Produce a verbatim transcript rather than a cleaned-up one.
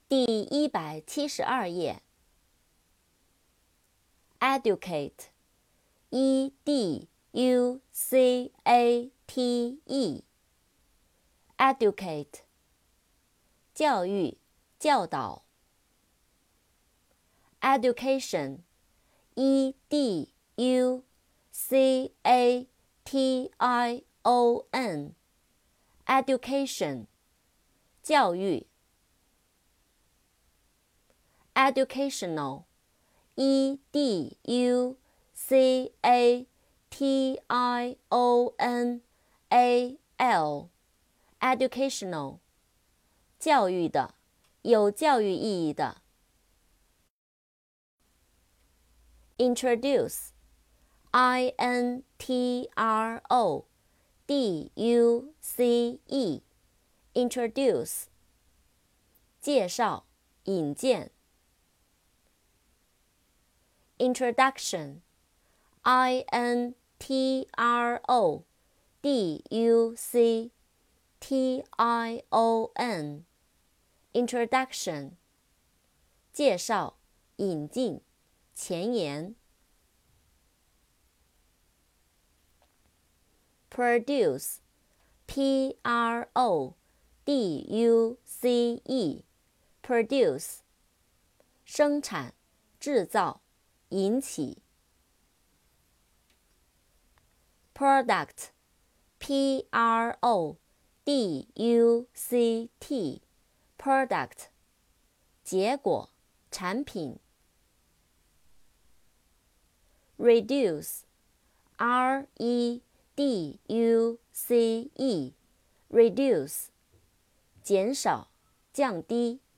第一百七十二页。educate, e d u c a t e, educate, 教育、教导。education, e d u c a t i o n, education, 教育。educational, e d u c a t i o n a l, educational, 教育的，有教育意义的。introduce, i n t r o d u c e, introduce, 介绍、引荐。introduction, i n t r o d u c t i o n, introduction, 介绍、引进、前言。produce, p r o d u c e, produce, 生产、制造、引起。product, p r o d u c t, product, 结果、产品。reduce, r e d u c e, reduce, 减少、降低。